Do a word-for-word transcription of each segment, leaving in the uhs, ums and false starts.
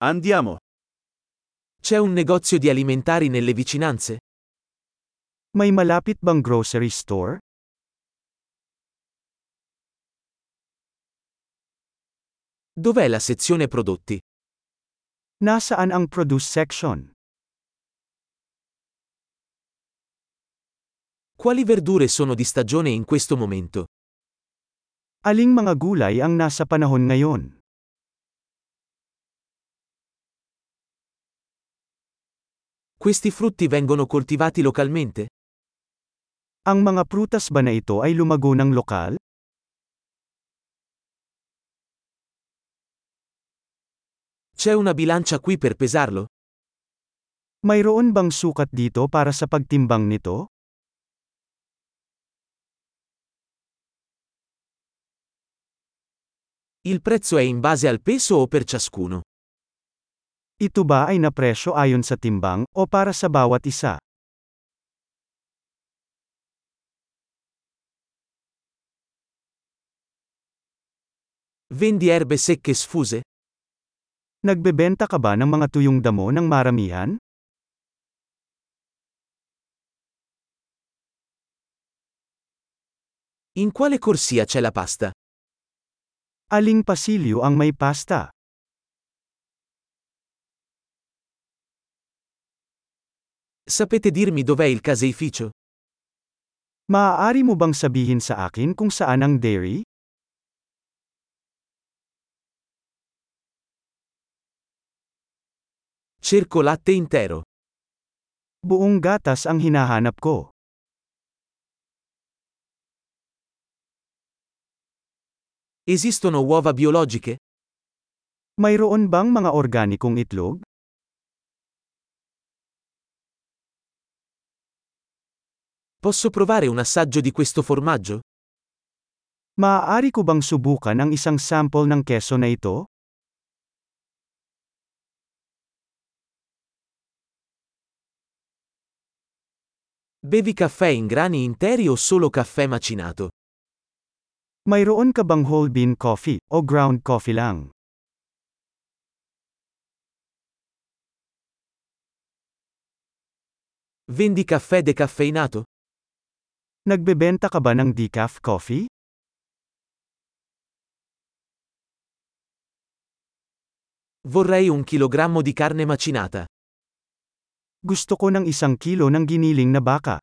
Andiamo. C'è un negozio di alimentari nelle vicinanze? May malapit bang grocery store? Dov'è la sezione prodotti? Nasaan ang produce section? Quali verdure sono di stagione in questo momento? Aling mga gulay ang nasa panahon ngayon? Questi frutti vengono coltivati localmente? Ang mga prutas ba na ito ay lumago ng lokal? C'è una bilancia qui per pesarlo? Mayroon bang sukat dito para sa pagtimbang nito? Il prezzo è in base al peso o per ciascuno? Ito ba ay napresyo ayon sa timbang, o para sa bawat isa? Vendi erbe secche sfuse? Nagbebenta ka ba ng mga tuyong damo ng maramihan? In quale corsia c'è la pasta? Aling pasilyo ang may pasta? Sapete dirmi dov'è il caseificio? Maaari mo bang sabihin sa akin kung saan ang dairy? Cerco latte intero. Buong gatas ang hinahanap ko. Esistono uova biologiche? Mayroon bang mga organikong itlog? Posso provare un assaggio di questo formaggio? Maaari ko bang subukan ang isang sample ng keso na ito? Bevi caffè in grani interi o solo caffè macinato? Mayroon ka bang whole bean coffee, o ground coffee lang? Vendi caffè decaffeinato? Nagbebenta ka ba ng decaf coffee? Vorrei un chilogrammo di carne macinata. Gusto ko ng isang kilo ng giniling na baka.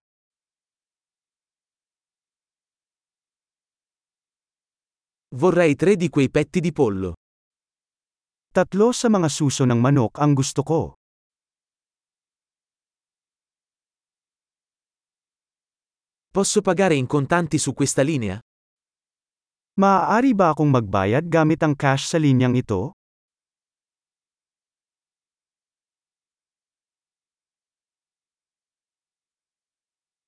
Vorrei tre di quei petti di pollo. Tatlo sa mga suso ng manok ang gusto ko. Posso pagare in contanti su questa linea? Maaari ba akong magbayad gamit ang cash sa linyang ito?